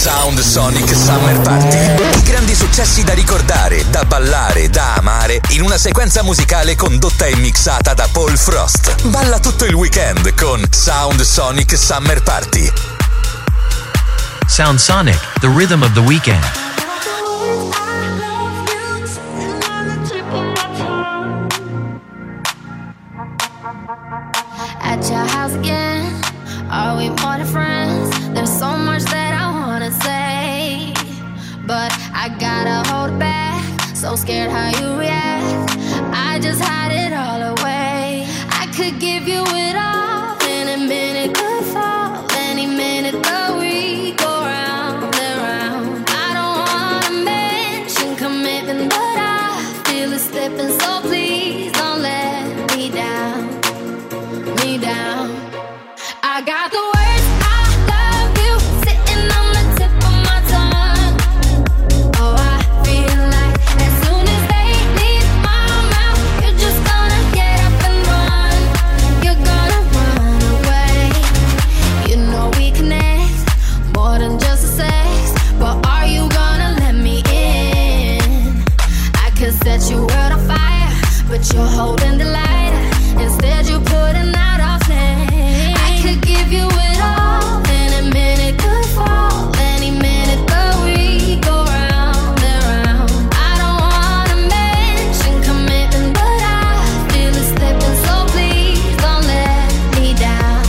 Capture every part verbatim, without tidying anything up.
Sound Sonic Summer Party. I grandi successi da ricordare, da ballare, da amare, in una sequenza musicale condotta e mixata da Paul Frost. Balla tutto il weekend con Sound Sonic Summer Party. Sound Sonic, the rhythm of the weekend. At your house again, are we more than friends? There's so much that I wanna say, but I gotta hold back. So scared how you react, I just hide it all away. I could give you it all, any minute could fall, any minute the week go round and round. I don't wanna mention commitment, but I feel it slipping, so please don't let me down, me down. I got the words I love you sitting on the tip of my tongue. Oh, I feel like as soon as they leave my mouth, you're just gonna get up and run. You're gonna run away. You know we connect more than just a sex, but are you gonna let me in? I could set your world on fire, but you're holding the lighter. Instead you're putting out our flame. I could give you it all, any minute could fall, any minute the week go round and round. I don't wanna mention commitment, but I feel it slipping, so please don't let me down.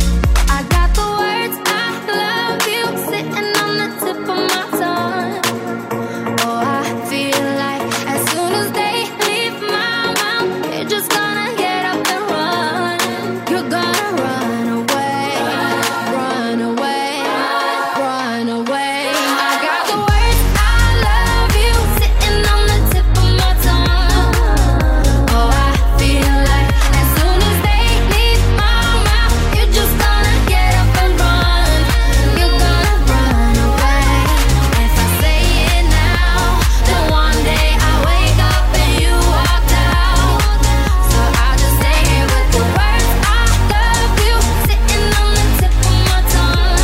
I got the words I love you sitting on the tip of my tongue. Oh, I feel like as soon as they leave my mouth, you're just gonna get up and run. You're gonna run away, run away, run away. I got the words I love you sitting on the tip of my tongue. Oh, I feel like as soon as they leave my mouth, you're just gonna get up and run. You're gonna run away. If I say it now, then one day I wake up and you walked out. So I'll just say it with the words I love you sitting on the tip of my tongue.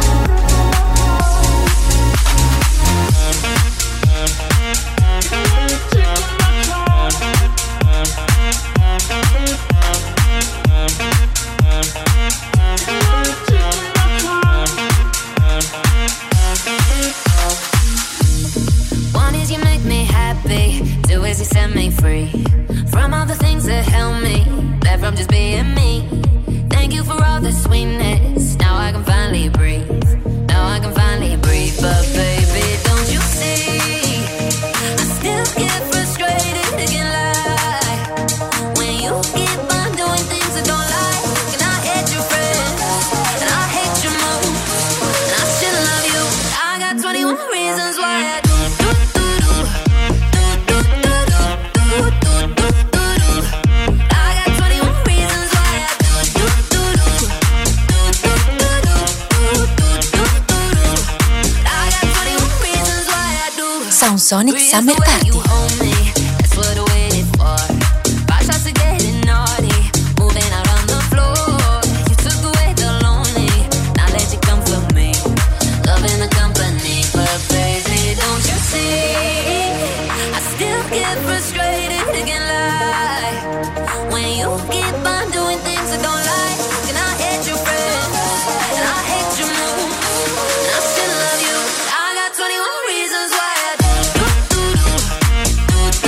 One is you make me happy, two is you set me free from all the things that held me back from just being me. Thank you for all the sweetness, now I can finally breathe, now I can finally breathe. But baby, don't you see, I still get frustrated, again like when you keep on doing things I don't like. And I hate your friends, and I hate your moves, and I still love you. I got twenty-one reasons why I do do do do do do do do do do do do. I got twenty-one reasons why I do do do do do do do do do do do. I got twenty-one reasons why I do. Sound Sonic Summer Party. That's what I waited for. Five shots of getting naughty, moving out on the floor. You took away the lonely, now let you come for me. Loving the company, but baby, don't you see? I still get frustrated, again like when you keep on doing things I don't like. And I hate your friends, and I hate your moves, and I still love you. I got twenty-one reasons why I do do do do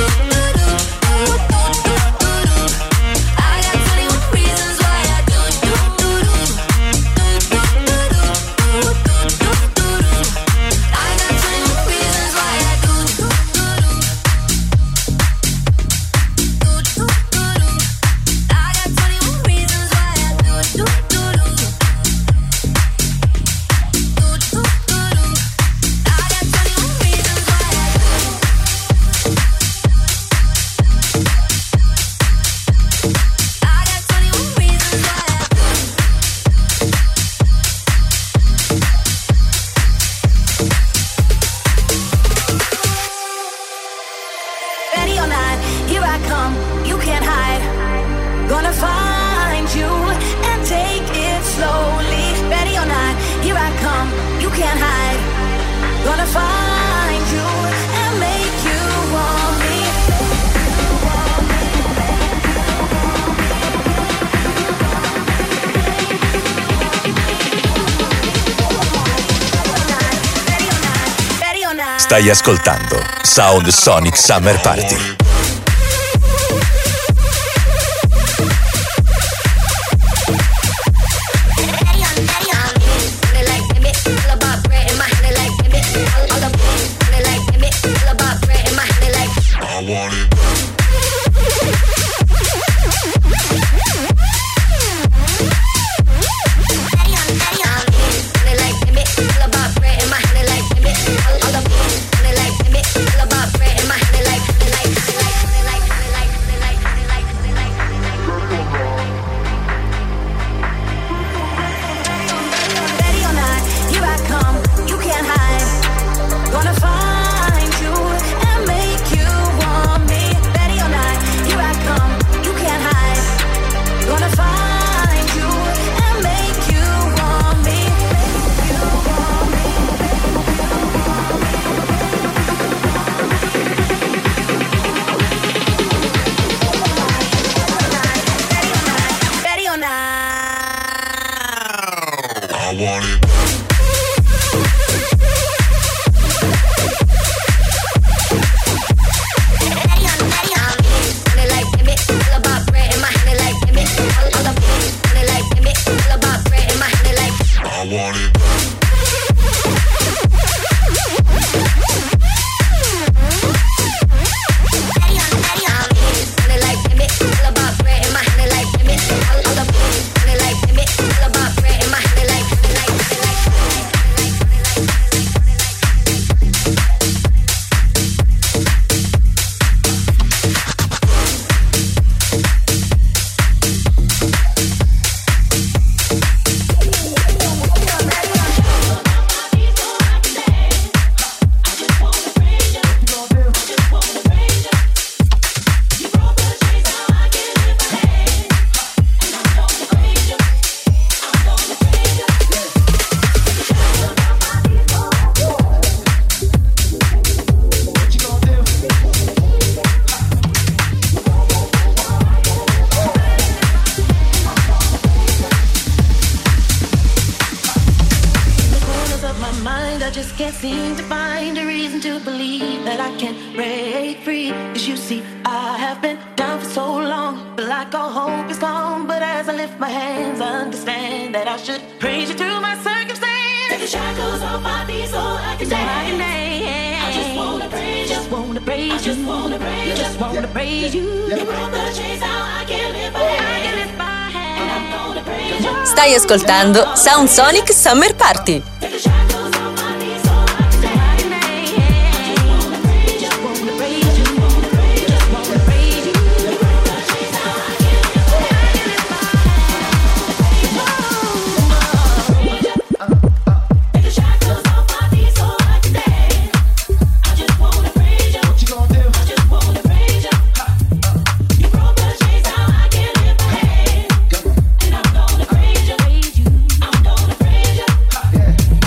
Gonna find you and make you want me. Stai ascoltando Sound Sonic Summer Party. Stai ascoltando Sound Sonic Summer Party. Yeah.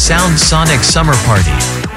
Sound Sonic Summer Party.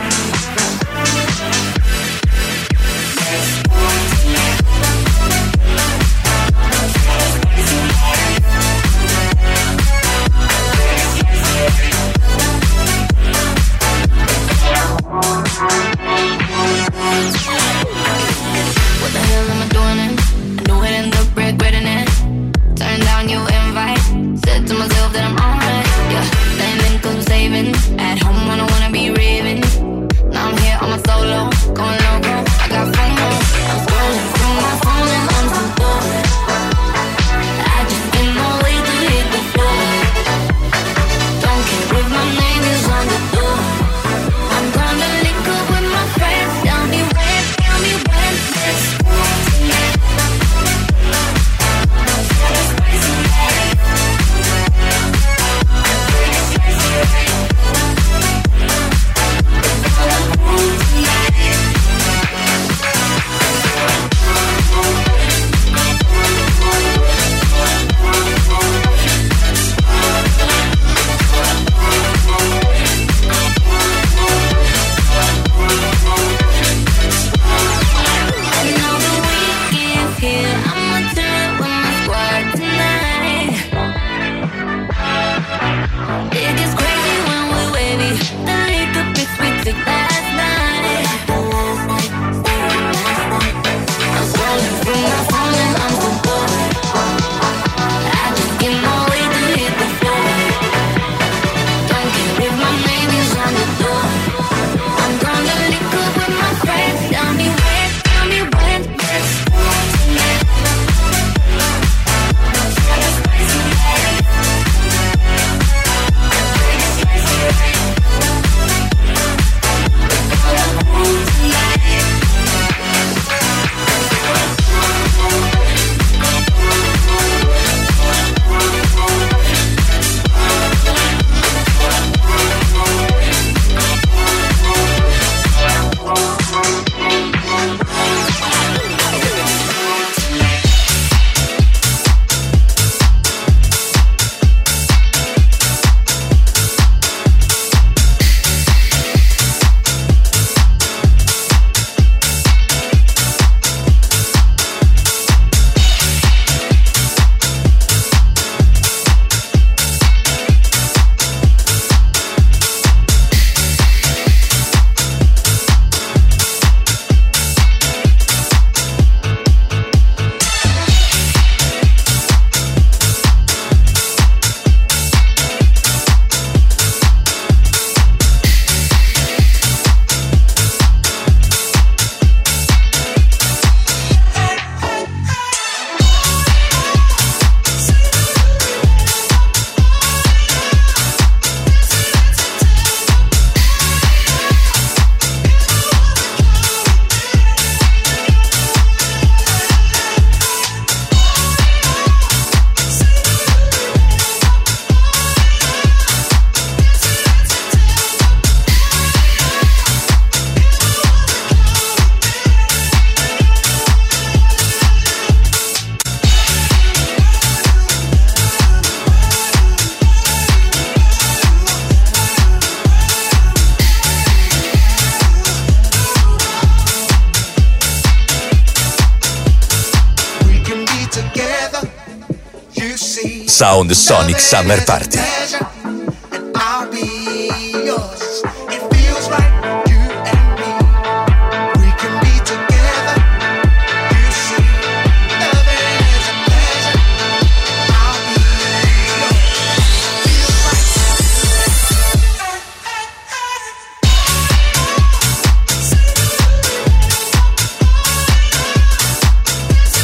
Sound Sonic Summer Party.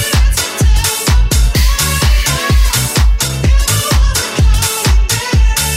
Together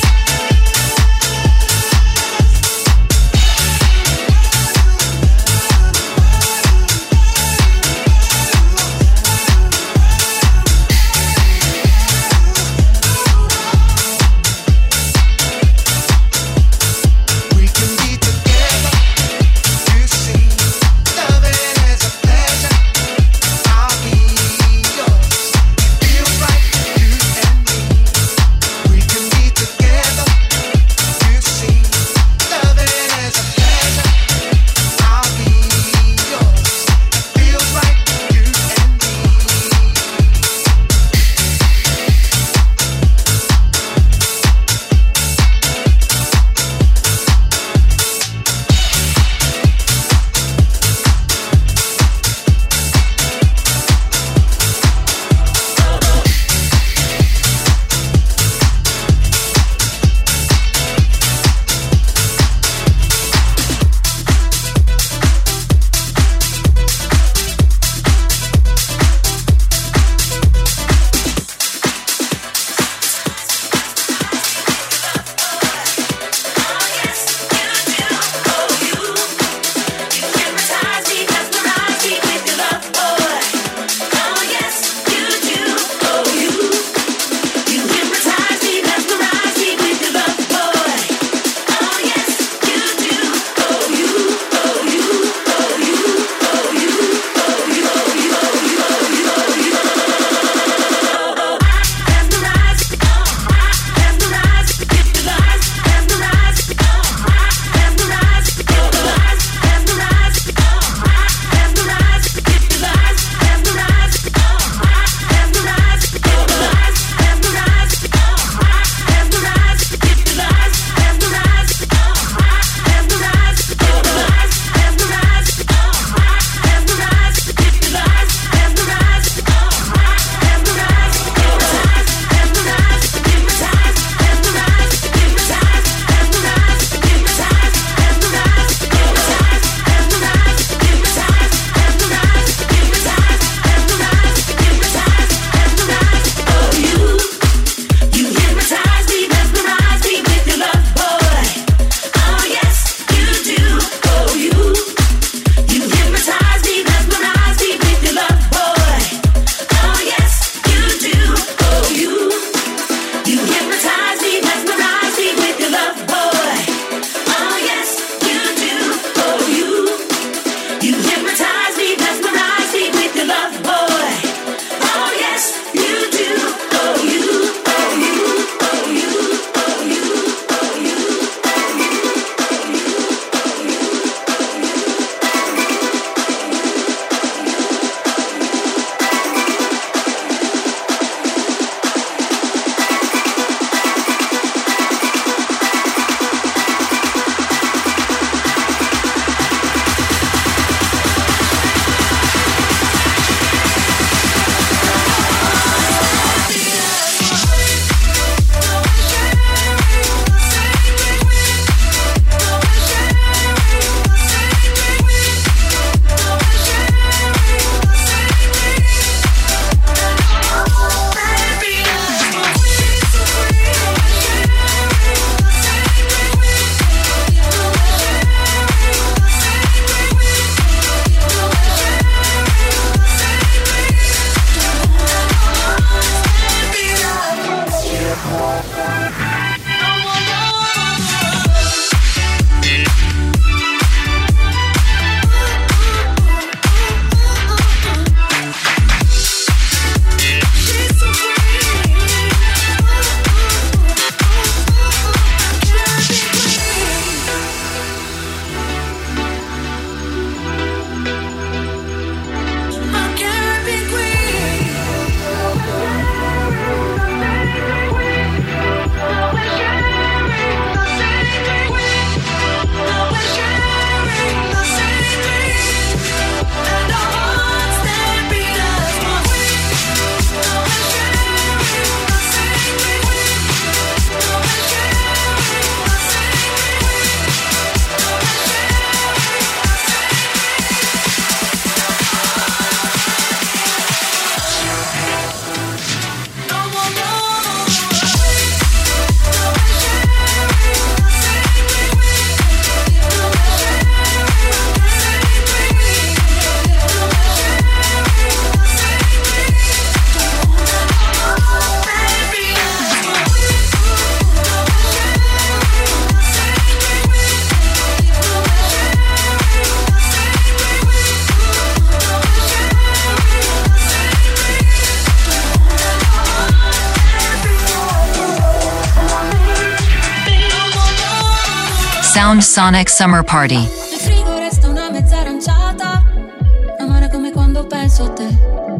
Sound Sonic Summer Party. Nel frigo resta una mezza aranciata, amara come quando penso a te.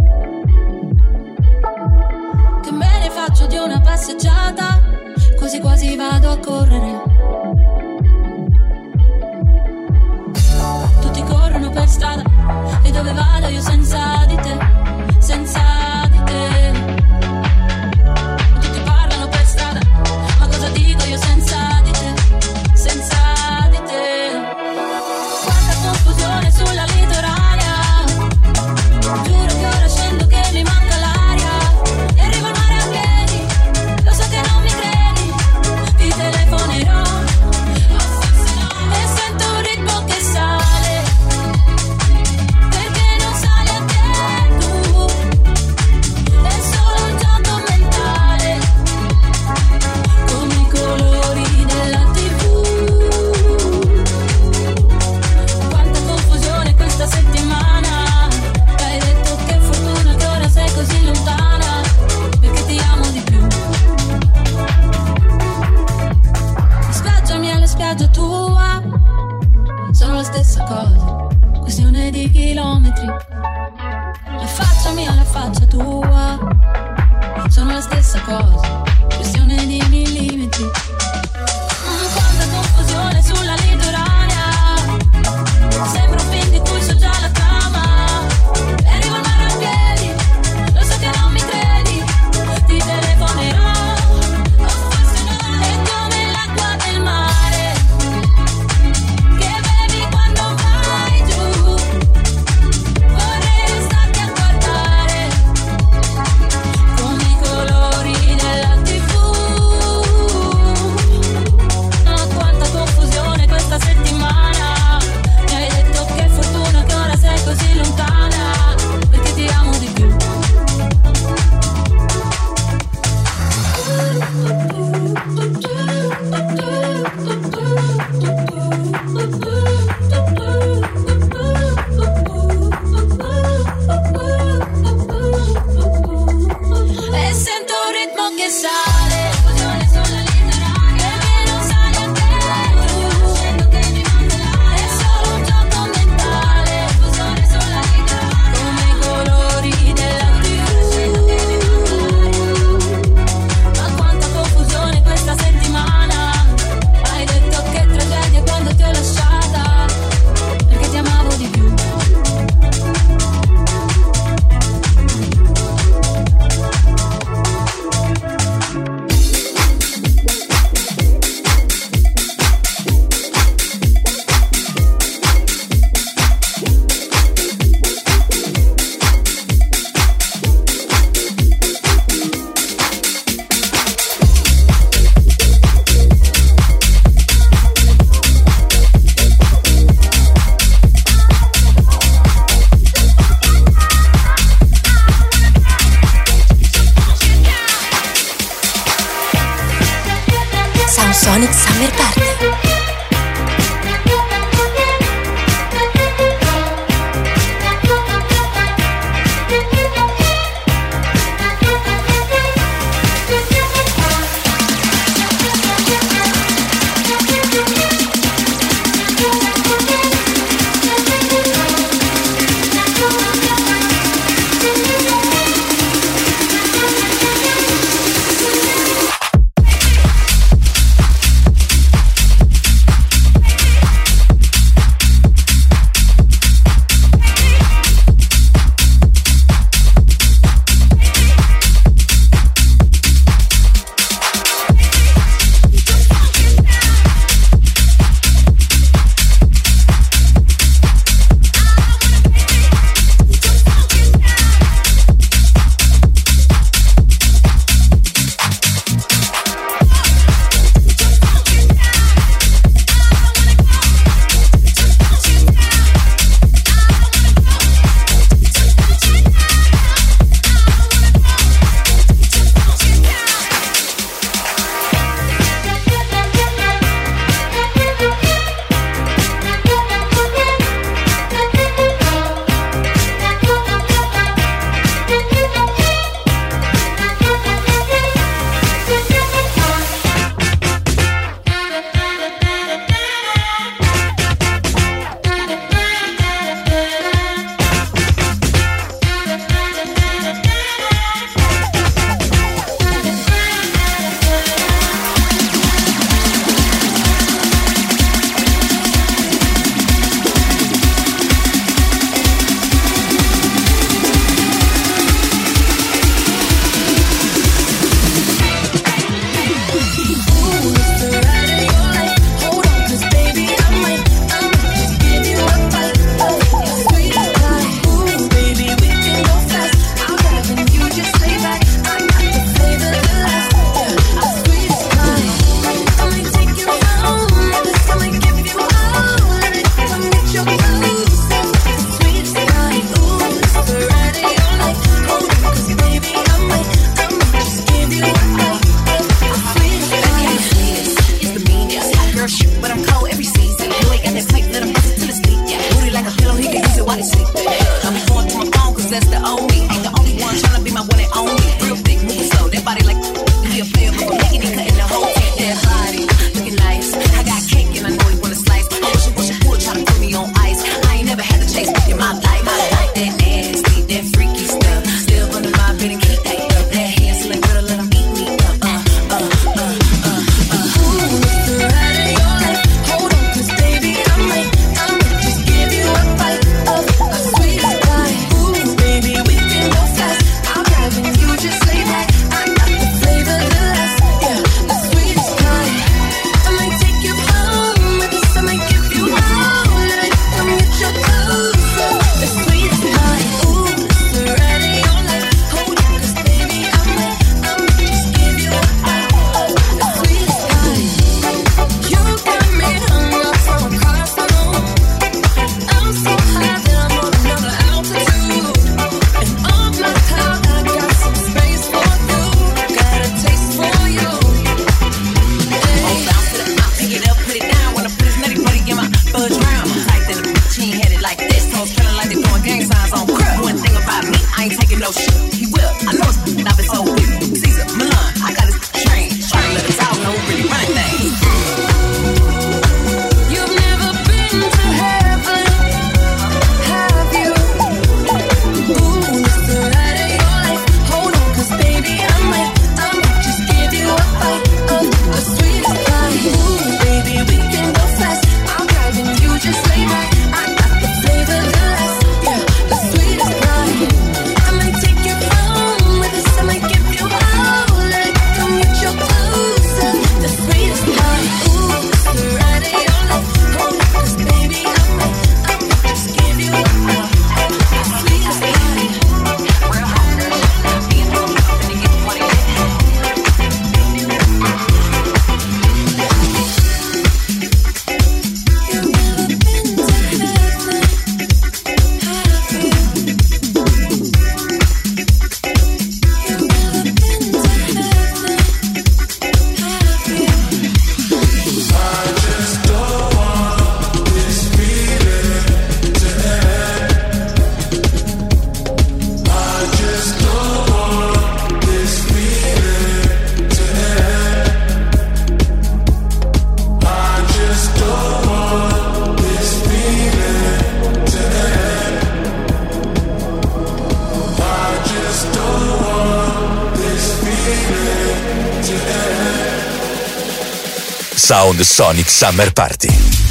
Che me ne faccio di una passeggiata, quasi quasi vado a correre. Tutti corrono per strada e dove vado io senza di te, senza di te. Tutti parlano per strada, ma cosa dico io senza di te, senza di te. Quanta confusione sulla litoranea, giuro che ora scendo che mi manca l'aria e arrivo al mare a piedi, lo so che non mi credi, ti telefonerò e sento un ritmo che sale, perché non sale anche tu, è solo un gioco mentale, come i colori della tivù. Quanta confusione questa settimana, hai detto che fortuna che ora sei così lontana, perché ti amo di più. Spiaggiami alla spiaggia tua, sono la stessa cosa, questione di chilometri. Affacciami alla faccia tua, sono la stessa cosa, questione di millimetri. Mm, quanta confusione sulla litoranea, sembra un film di cui so già la trama, e arrivo al mare a piedi, lo so che non mi credi, ti telefonerò, o forse no, è come l'acqua del mare, che bevi quando vai giù, vorrei restarti a guardare, come i colori della tivù. Oh, quanta confusione questa settimana, mi hai detto che fortuna che ora sei così lontana, perché ti amo di più. E sento un ritmo che sale, confusione sulla litoranea, perché non sale anche tu, è solo un gioco mentale, confusione sulla litoranea, come i colori della tivù. Ma quanta confusione questa settimana, hai detto che tragedia quando ti ho lasciata, perché ti amavo di più. Sound Sonic Summer Party. Sound Sonic Summer Party.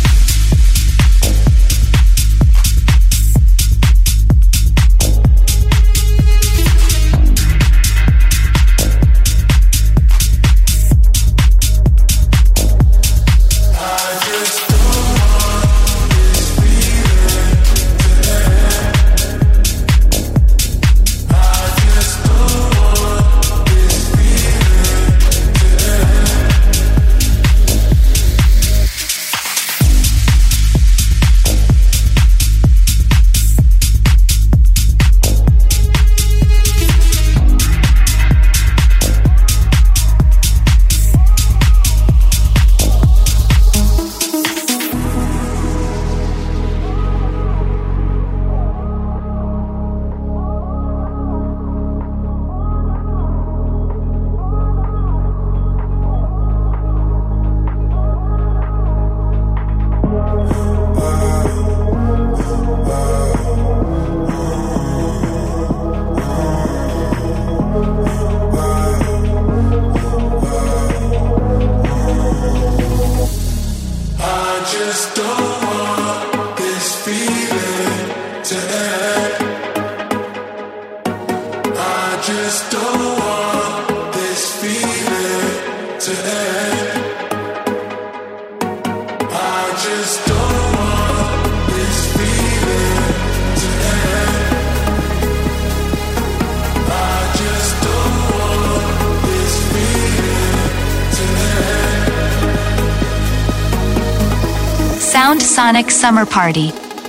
Sound Sonic Summer Party.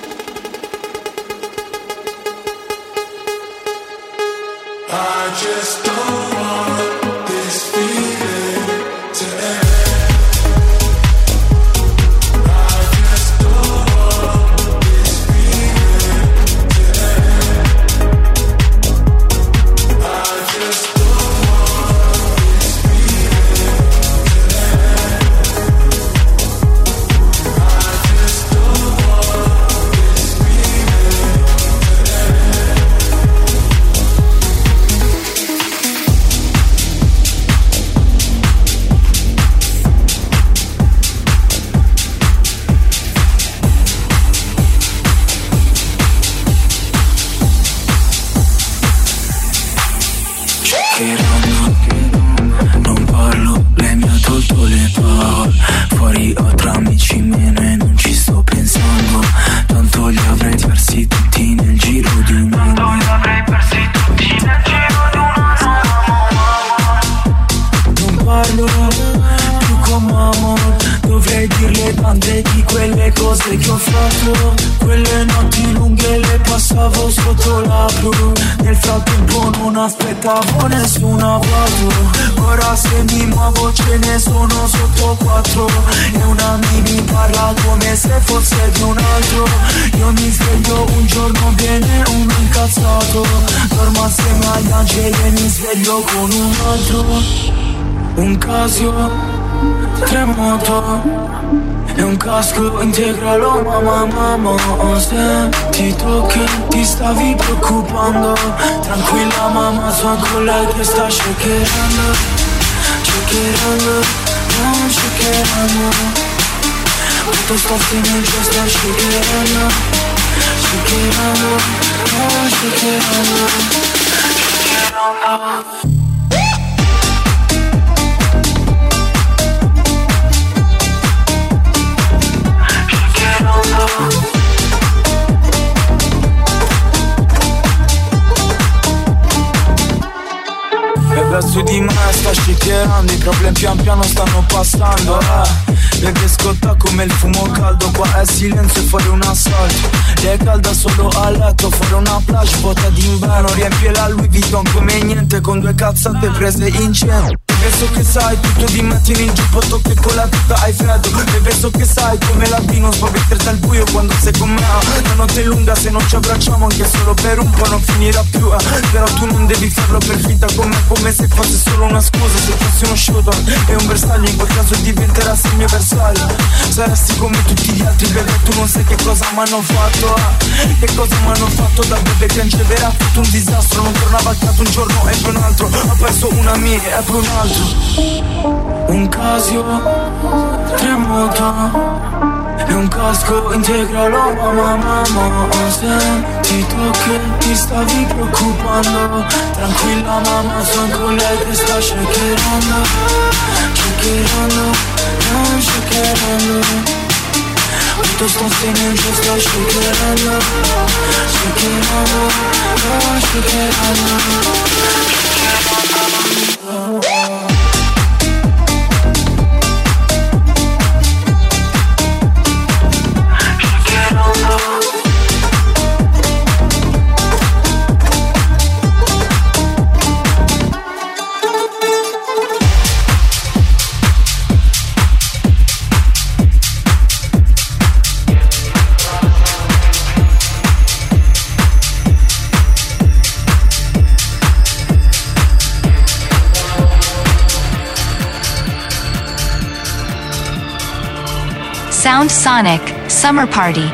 I just don't want this feeling to end. I just don't want this feeling to end. I just don't want this feeling to end. I just don't want this feeling to end. Non parlo, lei mi ha tolto le parole. Fuori ho tra amici meno e non ci sto pensando. Tanto li avrei persi tutti nel giro di un anno. Tanto li avrei persi tutti nel giro di un anno. Non parlo più con mamma. Dovrei dirle tante di quelle cose che ho fatto. Quelle notti lunghe le passavo sotto la blu. Nel frattempo non aspettavo nessuna auto. Ora se mi muovo ce ne sono sotto quattro. E una mi parla come se fosse di un altro. Io mi sveglio un giorno bene, uno incazzato. Dormo assieme agli angeli e mi sveglio con un altro. Un Casio, tre moto e un casco integralo, mamma, mamma. Se ti tocchi ti stavi preoccupando. Tranquilla mamma, sono con lei che sta shakerando. Shakerando, no, shakerando. Tutto sta finendo, sta shakerando. Shakerando, no, shakerando. Shakerando. E verso di me sta shakerando. I problemi pian piano stanno passando, eh. Perché scotta come il fumo caldo. Qua è silenzio e fuori un assalto. Lei è calda solo a letto. Fuori una plage vuota d'inverno. Riempie la Louis Vuitton come niente. Con due cazzate prese in cielo. Bebe so che sai tutto di mettini in giubbotto che con la tuta hai freddo. Bebe so che sai come la vino spaventare dal buio quando sei con me. La notte è lunga, se non ci abbracciamo anche solo per un po' non finirà più, eh. Però tu non devi farlo per finta con me, come se fosse solo una scusa. Se fossi uno shooter e un bersaglio, in quel caso diventerassi il mio avversario. Saresti come tutti gli altri, bebe, tu non sai che cosa m'hanno fatto, eh. Che cosa m'hanno fatto da bebe che angevera, ha fatto un disastro. Non tornava a casa un giorno e poi un altro, ha perso una mia e poi un altro. Un Casio, tre moto e un casco integralo, mamma, mamma. Senti tu che ti stavi preoccupando, tranquilla mamma, sono con lei che sta shakerando, shakerando, non shakerando. Tutto sto segno ci sta shakerando, shakerando, non shakerando, shakerando. Sound Sonic Summer Party.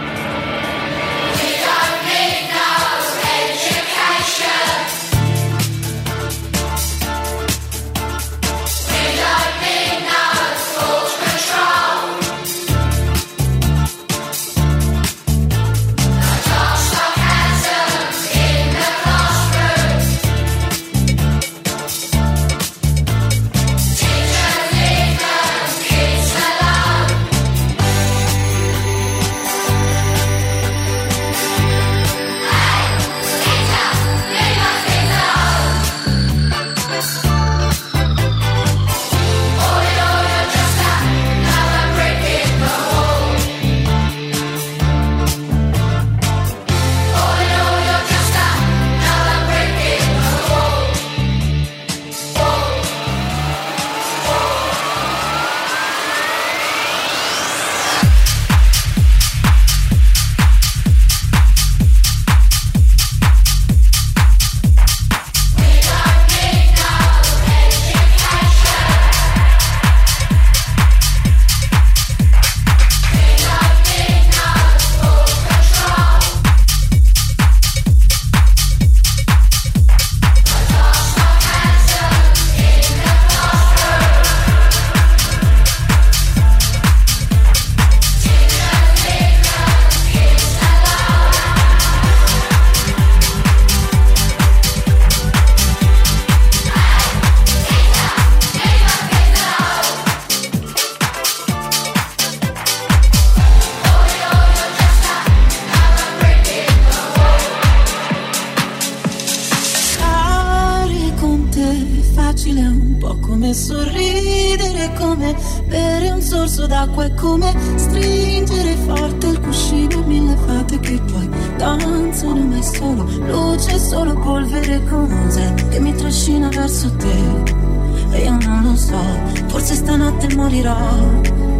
Sorridere come bere un sorso d'acqua, è come stringere forte il cuscino e mille fate che poi danzano mai solo, luce solo polvere, cos'è che mi trascina verso te e io non lo so, forse stanotte morirò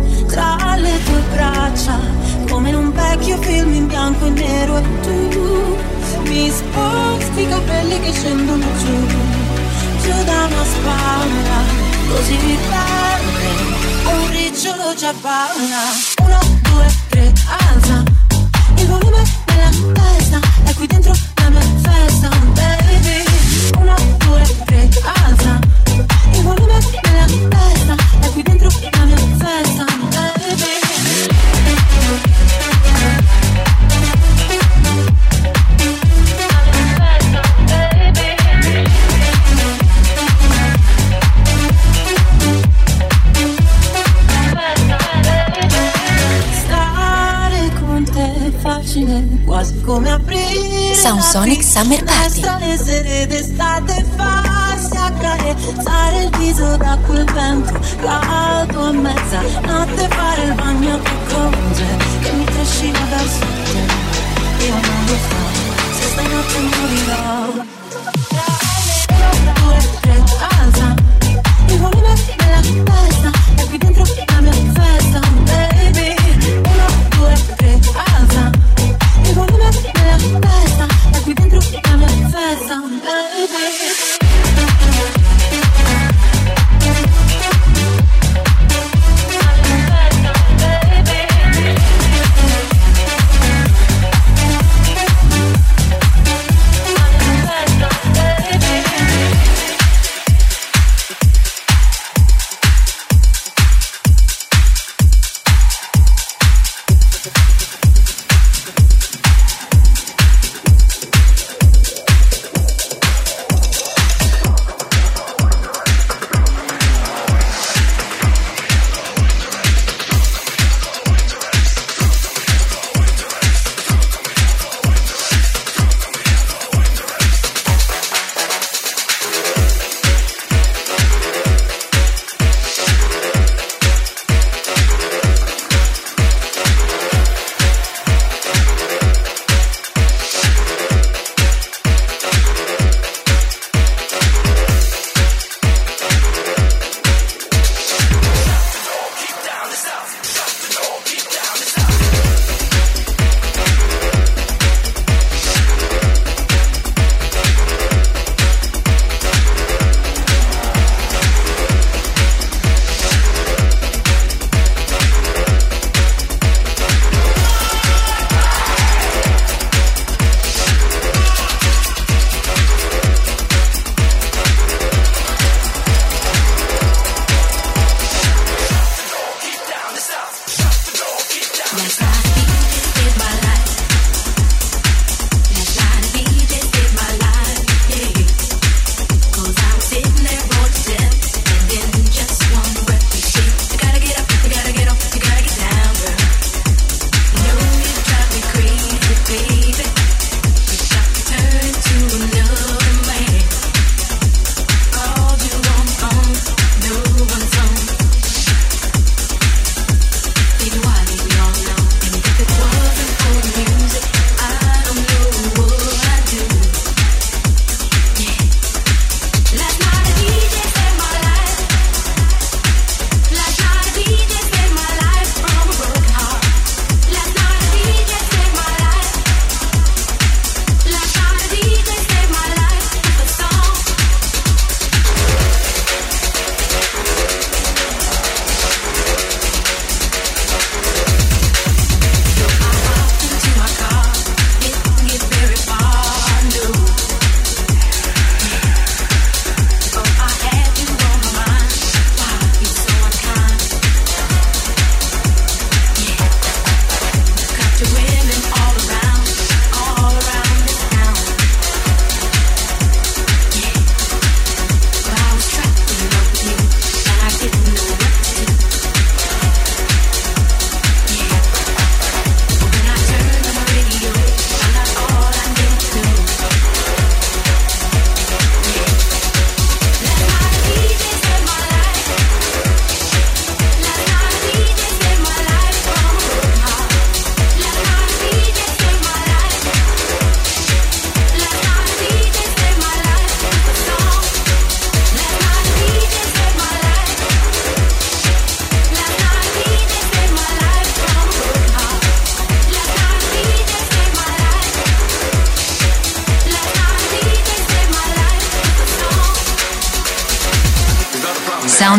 tra le tue braccia come in un vecchio film in bianco e nero e tu mi sposti i capelli che scendono giù, giù da una spalla. Così mi perde, un ricciolo già parla. Uno, due, tre, alza il volume della testa, è qui dentro la mia festa, baby. Uno, due, tre, alza il volume della testa, è qui dentro la mia festa, baby. Quasi come aprire Sound Sonic Summer Party. Le sere d'estate, farsi accarezzare il viso da quel vento caldo a mezza notte, fare il bagno che cose che mi trascina verso te. Io non lo so se stanotte morirò. Uno, due, tre, alza il volume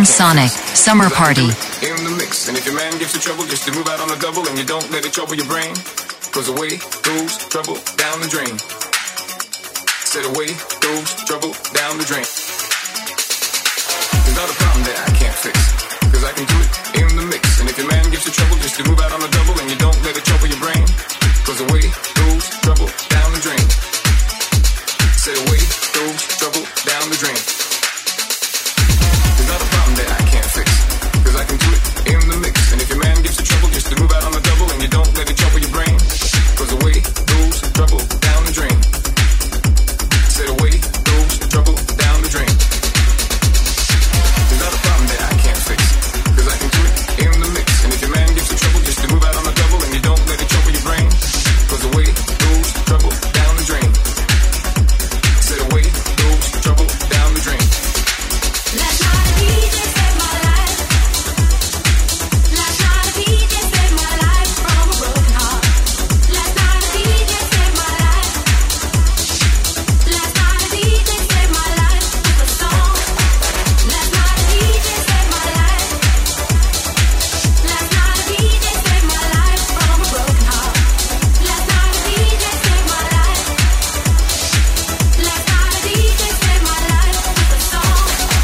Sound Sonic Summer Party. In the mix, and if your man gives you trouble, just to move out on a double, and you don't let it trouble your brain. Cause away goes trouble down the drain. Said away goes trouble down the drain. There's not a problem that I can't fix, cause I can do it in the mix. And if your man gives you trouble, just to move out on a double, and you don't let it trouble your brain. Cause away goes trouble down the drain. Said away goes trouble down the drain. There's not a problem that I can't fix, cause I can do it in the mix. And if your man gives you trouble, just to move out on a double, and you don't let it trouble your brain. Cause away goes trouble down the drain. Said away goes trouble down the drain. There's not a problem that I can't fix, cause I can do it in the mix. And if your man gives you trouble, just to move out on a double, and you don't let it trouble your brain. Cause away goes trouble down the drain. Said away goes trouble down the drain. Last night a D J saved my life. Last night a D J saved my life from a broken heart. Last night a D J saved my life. Last night a D J saved my life with a song. Last night a D J saved my life. Last night a D J saved my life from a broken heart. Last night a D J saved my life. Last night a D J saved my life with a song.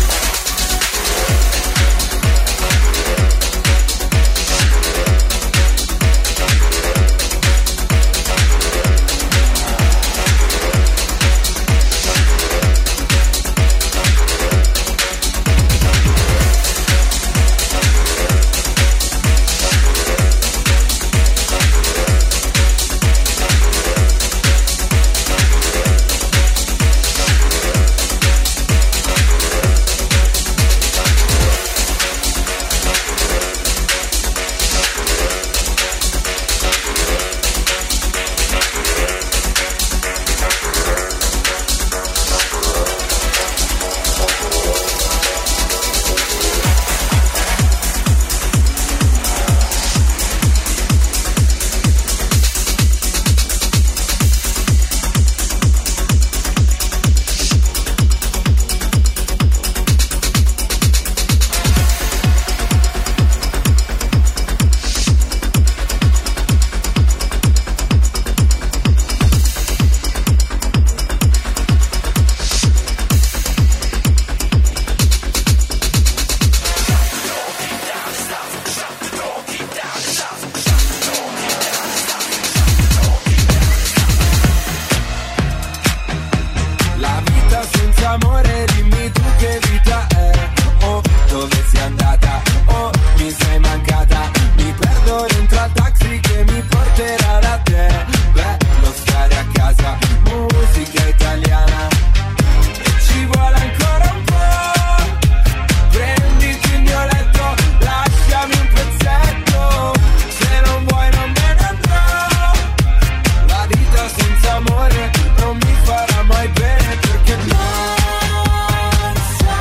La vita senza amore, dimmi tu che vita è. Oh, dove sei andata? Oh, mi sei mancata. Mi perdo dentro al taxi che mi porterà da te. Bello stare a casa, musica italiana. E ci vuole ancora un po'. Prenditi il mio letto, lasciami un pezzetto. Se non vuoi non me ne andrò. La vita senza amore non mi farà mai bene, perché non so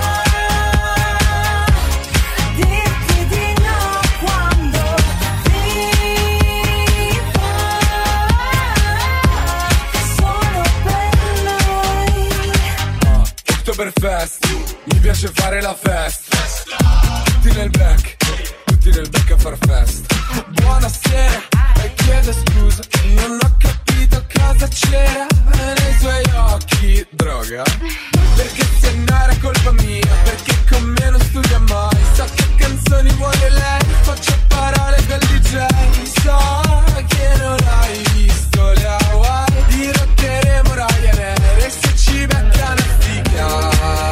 dirti di no quando vivo solo per noi. Oktoberfest, mi piace fare la festa. Tutti nel black, tutti nel black a far festa. Buonasera, e chiedo scusa, non ho capito cosa c'era nei suoi occhi. Droga? Perché se no era colpa mia, perché con me non studia mai. So che canzoni vuole lei, faccio parole del D J. So che non hai visto le Hawaii, dirotteremo Ryanair e se ci beccano stica.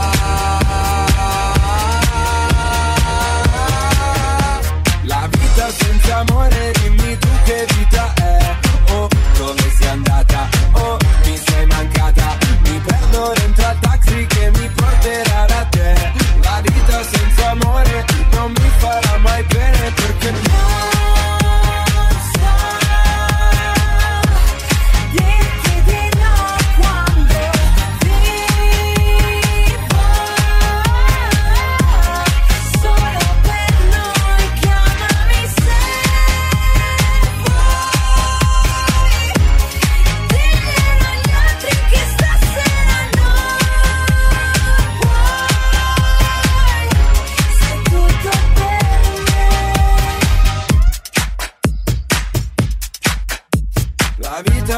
La vita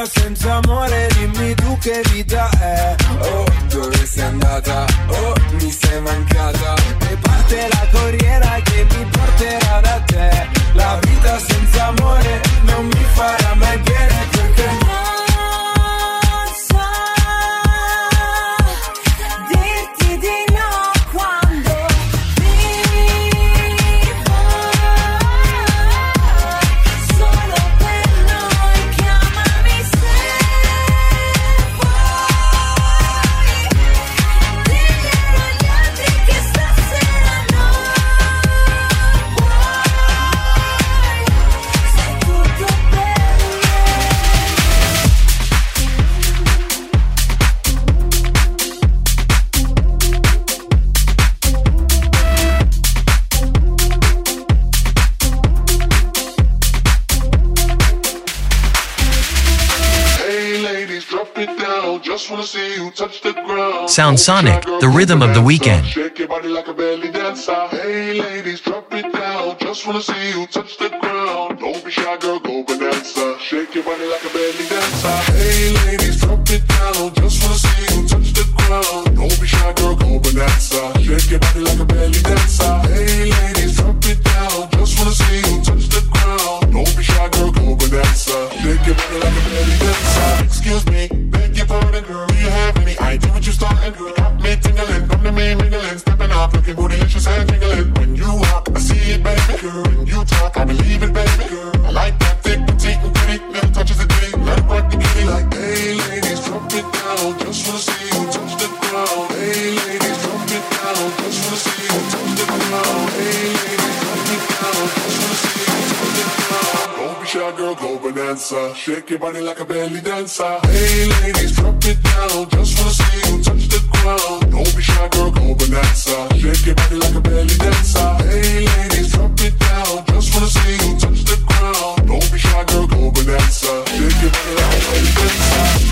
vita senza amore, dimmi tu che vita è. Oh, dove sei andata? Oh, mi sei mancata. E parte la corriera che mi porterà da te. La vita senza amore non mi farà mai bene, perché non so dirti di no quando vivo solo per noi. Chiamami se vuoi, diglielo agli altri che stasera non vuoi, sei tutto per me. Sound Sonic, the rhythm of the weekend. Shake your body like a belly dancer. Hey ladies, drop it down. Just wanna see you touch the ground. Don't be shy, girl, go bonanza. Shake your body like a belly dancer. Hey ladies, drop it down. Just wanna see you touch the ground. Don't be shy, girl, go bonanza. Shake your body like a belly dancer. Hey ladies, drop it down. Just wanna see you touch the ground. Don't be shy, girl, go bonanza. Shake your body like a belly dancer. Excuse me, beg your pardon, girl. Do you have any idea what you starting, girl? Got me tingling, come to me mingling, stepping up, looking bootylicious and tingling. When you walk, I see it, baby, girl. When you talk, I believe it, baby, girl. I like that thick, petite, and pretty, little touches of ditty. Let it work the kitty like, hey ladies, drop it down. Just wanna see you touch the ground. Hey ladies, drop it down. Just wanna see you touch the ground. Hey ladies, drop it down. Just wanna see you touch the ground. Don't be shy, girl, go bonanza. Shake your body like a belly dancer. Hey ladies, drop it down. Just wanna see you touch the ground. Don't be shy, girl, go bonanza. Shake your body like a belly dancer. Hey ladies, drop it down. Just wanna see you touch the ground. Don't be shy, girl, go bonanza. Shake your body like a belly dancer.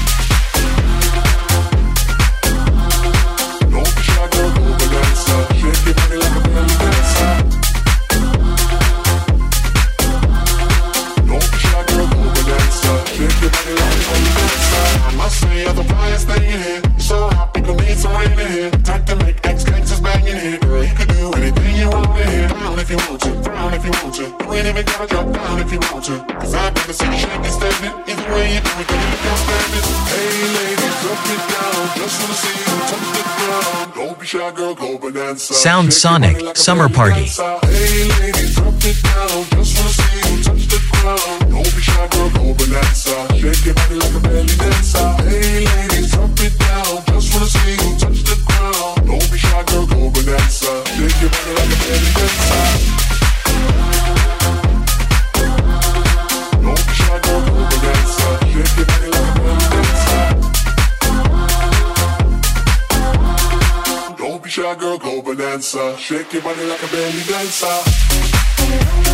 Don't be shy, girl, go bonanza. Shake your body like a belly dancer. Don't be shy, girl, go bonanza. Shake your body like a belly dancer. I must say, you're the flyest thing in here. You're so hot, people need some rain in here. Time to make ex-gangsters bang in here. Girl, you can do anything you want in here. Down if you want to, down if you want to. You ain't even gotta drop down if you want to. Cause I've never seen you shaking standing. Either way you do it, girl, you can't stand it. Hey ladies, drop it down. Just wanna see you touch the ground. Don't be shy, girl, go bonanza. Sound Sonic, like Summer Party. Hey ladies, drop it down. Just wanna see you touch the ground. Don't be shy, girl, go bonanza. Shake your body like a belly dancer. Hey ladies, drop it down. Just wanna see you touch the ground. Don't be shy, girl, go bonanza. Shake your body like a belly dancer. Don't be shy, girl, go bonanza. Shake your body like a belly dancer. Don't be shy, girl, go bonanza. Shake your body like a belly dancer.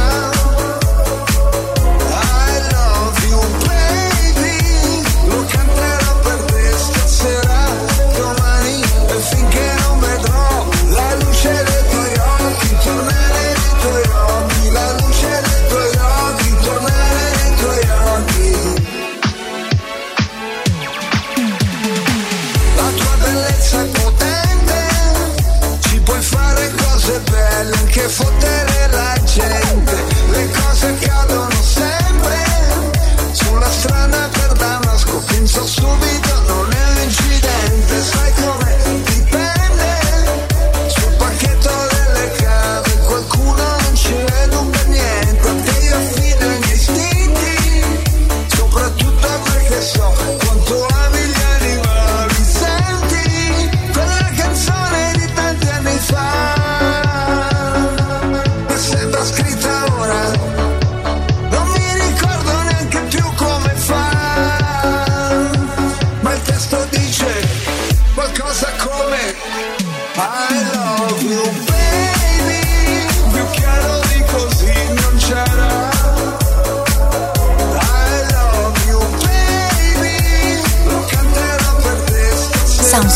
Lo canto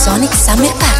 Sonic Summer Party.